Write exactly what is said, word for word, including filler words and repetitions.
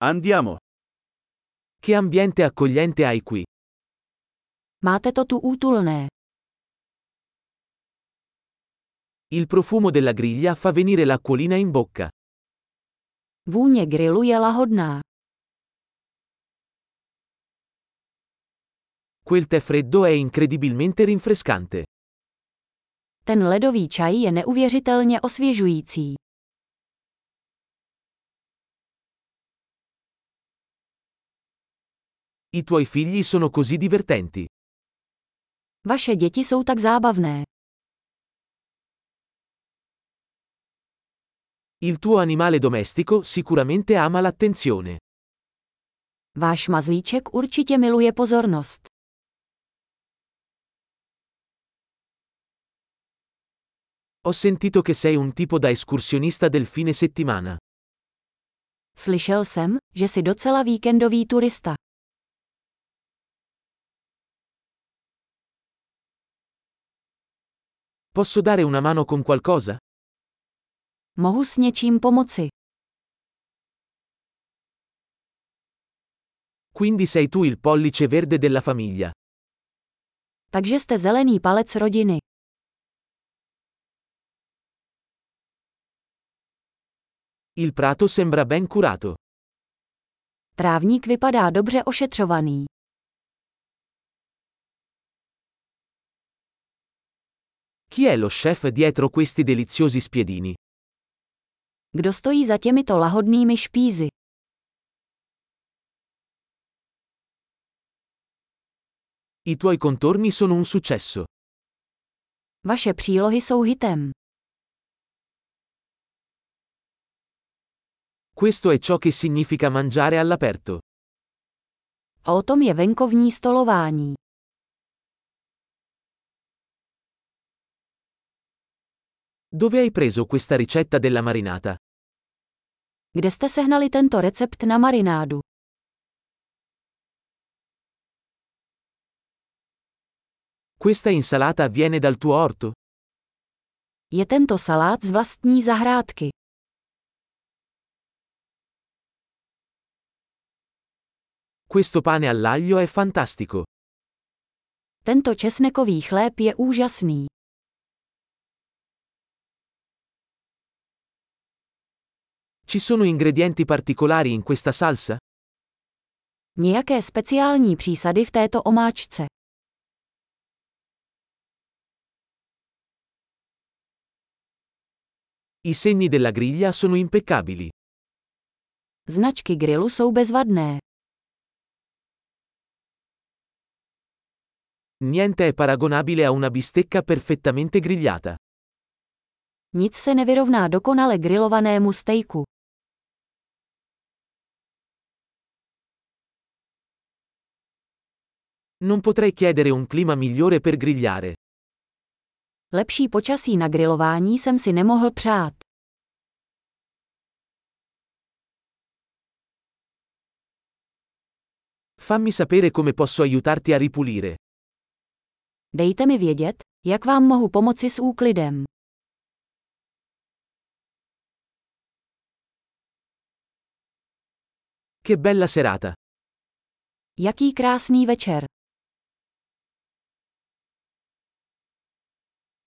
Andiamo. Che ambiente accogliente hai qui. Máte to tu útulné. Il profumo della griglia fa venire l'acquolina in bocca. Vůně grilu je lahodná. Quel tè freddo è incredibilmente rinfrescante. Ten ledový čaj je neuvěřitelně osvěžující. I tuoi figli sono così divertenti. Vaše děti jsou tak zábavné. Il tuo animale domestico sicuramente ama l'attenzione. Váš mazlíček určitě miluje pozornost. Ho sentito che sei un tipo da escursionista del fine settimana. Slyšel jsem, že jsi docela víkendový turista. Posso dare una mano con qualcosa? Mohu s něčím pomoci. Quindi sei tu il pollice verde della famiglia. Takže jste zelený palec rodiny. Il prato sembra ben curato. Trávník vypadá dobře ošetřovaný. Chi è lo chef dietro questi deliziosi spiedini? Kdo stojí za těmito lahodnými špízy? I tuoi contorni sono un successo. Vaše přílohy jsou hitem. Questo è ciò che significa mangiare all'aperto. A o tom je venkovní stolování. Dove hai preso questa ricetta della marinata? Kde jste sehnali tento recept na marinádu? Questa insalata viene dal tuo orto? Je tento salát z vlastní zahrádky. Questo pane all'aglio è fantastico. Tento česnekový chléb je úžasný. Ci sono ingredienti particolari in questa salsa? Nějaké speciální přísady v této omáčce. I segni della griglia sono impeccabili. Značky grilu jsou bezvadné. Niente è paragonabile a una bistecca perfettamente grigliata. Nic se nevyrovná dokonale grilovanému stejku. Non potrei chiedere un clima migliore per grigliare. Lepší počasí na grilování jsem si nemohl přát. Fammi sapere come posso aiutarti a ripulire. Dejte mi vědět, jak vám mohu pomoci s úklidem. Che bella serata! Jaký krásný večer.